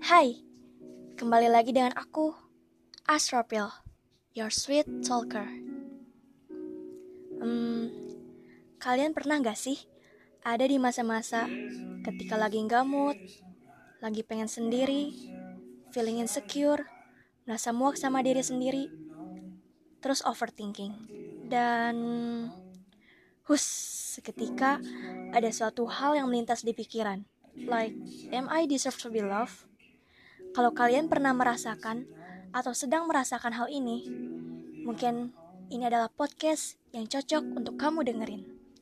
Hai, kembali lagi dengan aku, Astropil, your sweet talker. Kalian pernah gak sih ada di masa-masa ketika lagi gak mood, lagi pengen sendiri, feeling insecure, merasa muak sama diri sendiri, terus overthinking, dan seketika ada suatu hal yang melintas di pikiran, like, am I deserve to be loved? Kalau kalian pernah merasakan atau sedang merasakan hal ini, mungkin ini adalah podcast yang cocok untuk kamu dengerin.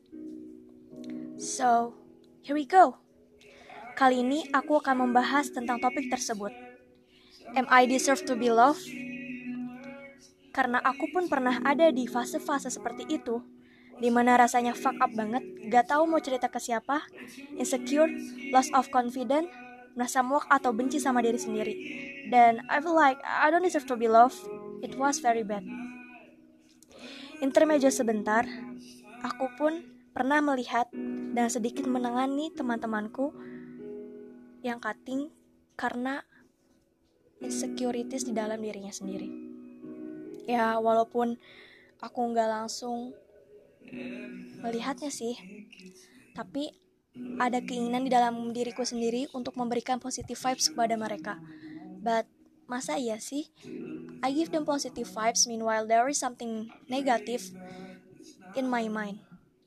So, here we go. Kali ini aku akan membahas tentang topik tersebut. Am I deserve to be loved? Karena aku pun pernah ada di fase-fase seperti itu, di mana rasanya fuck up banget, gak tahu mau cerita ke siapa, insecure, loss of confidence, merasa muak atau benci sama diri sendiri. Dan I feel like I don't deserve to be loved. It was very bad. Intermezzo sebentar, aku pun pernah melihat dan sedikit menangani teman-temanku yang cutting karena insecurities di dalam dirinya sendiri. Ya, walaupun aku gak langsung melihatnya sih, tapi ada keinginan di dalam diriku sendiri untuk memberikan positive vibes kepada mereka. But masa iya sih? I give them positive vibes, meanwhile there is something negative in my mind.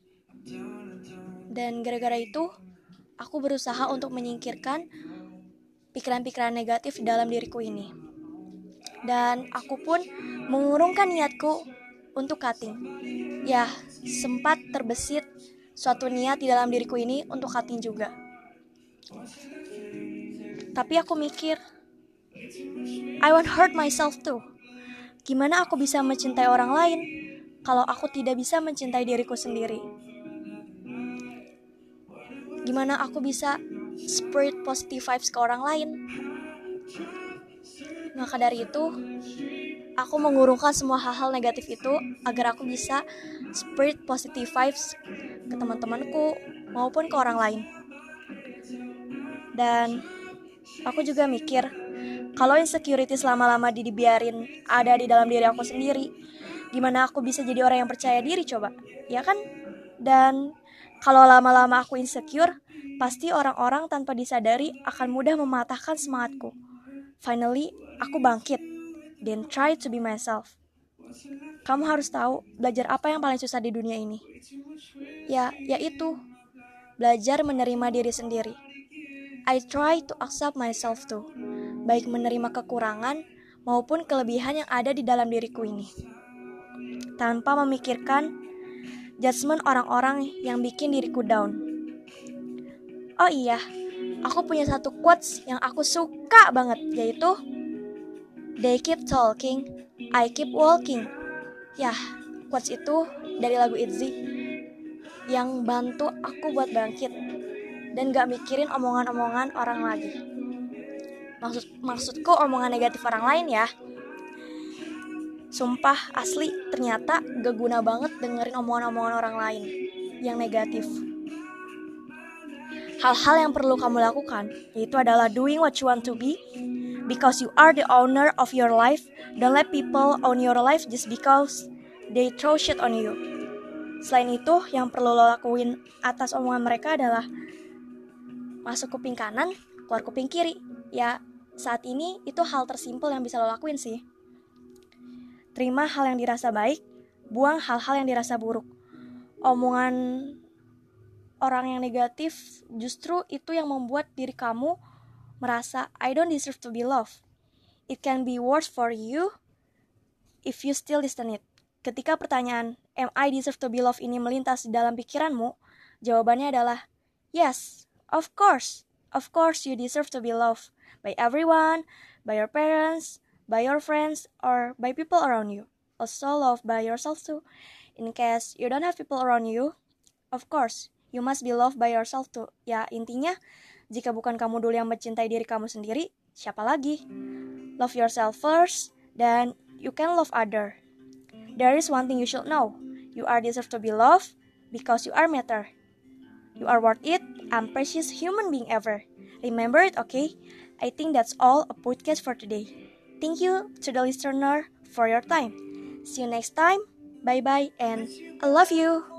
Dan gara-gara itu, aku berusaha untuk menyingkirkan pikiran-pikiran negatif di dalam diriku ini. Dan aku pun mengurungkan niatku untuk cutting. Ya, sempat terbesit suatu niat di dalam diriku ini untuk cutting juga. Tapi aku mikir, I won't hurt myself too. Gimana aku bisa mencintai orang lain kalau aku tidak bisa mencintai diriku sendiri? Gimana aku bisa spread positive vibes ke orang lain? Maka dari itu, aku mengurungkan semua hal-hal negatif itu agar aku bisa spread positive vibes ke teman-temanku maupun ke orang lain. Dan aku juga mikir, kalau insecurities lama-lama dibiarin ada di dalam diri aku sendiri, gimana aku bisa jadi orang yang percaya diri coba? Ya kan? Dan kalau lama-lama aku insecure, pasti orang-orang tanpa disadari akan mudah mematahkan semangatku. Finally, aku bangkit, then try to be myself. Kamu harus tahu, belajar apa yang paling susah di dunia ini? Yaitu belajar menerima diri sendiri. I try to accept myself too, baik menerima kekurangan maupun kelebihan yang ada di dalam diriku ini, tanpa memikirkan judgement orang-orang yang bikin diriku down. Oh iya, aku punya satu quotes yang aku suka banget, yaitu they keep talking, I keep walking. Ya, quotes itu dari lagu ITZY yang bantu aku buat bangkit dan gak mikirin omongan-omongan orang lagi. Maksudku omongan negatif orang lain ya. Sumpah asli, ternyata gak guna banget dengerin omongan-omongan orang lain yang negatif. Hal-hal yang perlu kamu lakukan yaitu adalah doing what you want to be, because you are the owner of your life. Don't let people own your life just because they throw shit on you. Selain itu, yang perlu lo lakuin atas omongan mereka adalah masuk kuping kanan, keluar kuping kiri. Ya, saat ini itu hal tersimpel yang bisa lo lakuin sih. Terima hal yang dirasa baik, buang hal-hal yang dirasa buruk. Omongan orang yang negatif justru itu yang membuat diri kamu merasa I don't deserve to be loved. It can be worse for you if you still listen it. Ketika pertanyaan am I deserve to be loved ini melintas di dalam pikiranmu, jawabannya adalah yes, of course you deserve to be loved by everyone, by your parents, by your friends, or by people around you. Also loved by yourself too. In case you don't have people around you, of course you must be loved by yourself too. Ya, intinya jika bukan kamu dulu yang mencintai diri kamu sendiri, siapa lagi? Love yourself first, then you can love other. There is one thing you should know. You are deserve to be loved because you are matter. You are worth it and precious human being ever. Remember it, okay? I think that's all a podcast for today. Thank you to the listener for your time. See you next time. Bye bye and I love you.